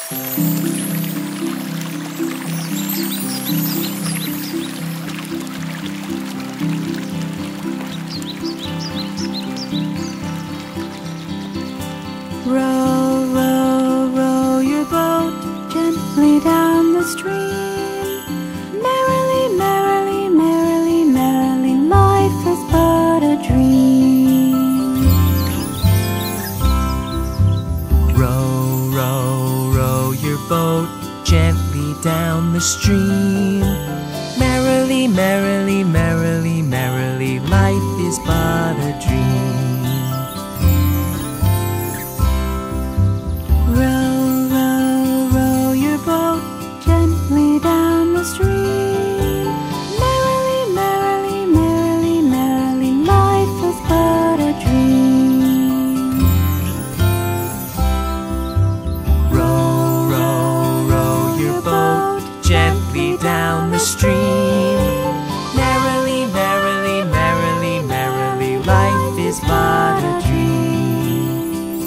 Row, row, row your boat gently down the stream. Merrily, merrily, merrily, merrily, life is but a dream. Row, row, row your boat gently down the stream. Merrily, merrily, merrily, merrily, life is but a dream. Row, row, row your boat gently down the stream. Merrily, merrily, merrily, merrily, life is but a dream. Row, row, row your boat gently down the stream. Merrily, merrily, merrily, merrily, life is but a dream.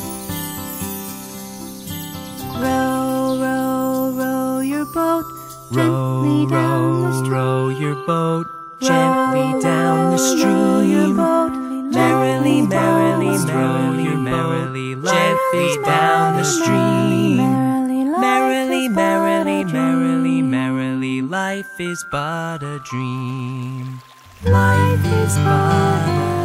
Row, row, row your boat gently Row, down the row, stream. row your boat gently down the stream. Merrily, merrily, merrily, merrily, gently down the stream. Merrily, merrily, merrily, merrily, life is but a dream. Life is but a